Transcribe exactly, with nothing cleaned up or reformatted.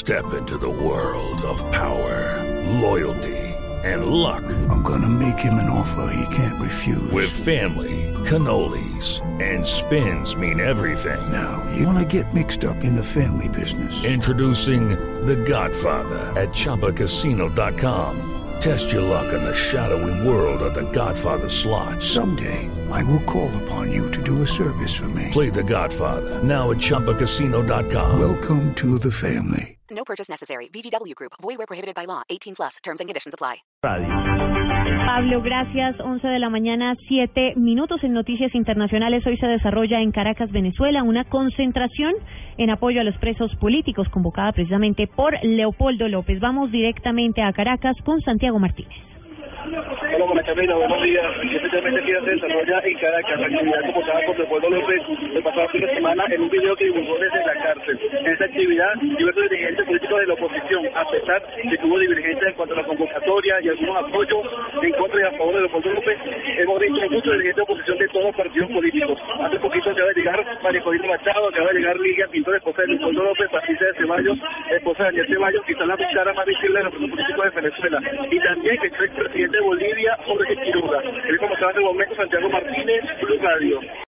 Step into the world of power, loyalty, and luck. I'm gonna make him an offer he can't refuse. With family, cannolis, and spins mean everything. Now, you wanna get mixed up in the family business. Introducing The Godfather at Chumba Casino dot com. Test your luck in the shadowy world of The Godfather slot. Someday, I will call upon you to do a service for me. Play The Godfather, now at Chumba Casino dot com. Welcome to the family. No purchase necessary. V G W Group. Void where prohibited by law. eighteen plus. Terms and conditions apply. Pablo, gracias. once de la mañana, siete minutos. En Noticias Internacionales, hoy se desarrolla en Caracas, Venezuela, una concentración en apoyo a los presos políticos convocada precisamente por Leopoldo López. Vamos directamente a Caracas con Santiago Martínez. Hola, buenas Camila, buenos días. Especialmente aquí se desarrolla en Caracas, la actividad convocada por Leopoldo López el pasado fin de semana en un video que divulgó desde la cárcel. En esta actividad, diversos dirigentes políticos de la oposición, a pesar de que hubo divergencias en cuanto a la convocatoria y algunos apoyos en contra y a favor de Leopoldo López, hemos visto muchos dirigentes de oposición de todos los partidos políticos. Hace poquito acaba de llegar María Corina Machado, acaba de llegar Ligia Pintor, esposa de Leopoldo López, Patricia de Ceballos, esposa de Daniel Ceballos, que están las dos caras más visibles de los partidos políticos de Venezuela. Y también que el presidente de Bolivia, Jorge Quiroga. Es como estaba en el momento Santiago Martínez, Blue Radio.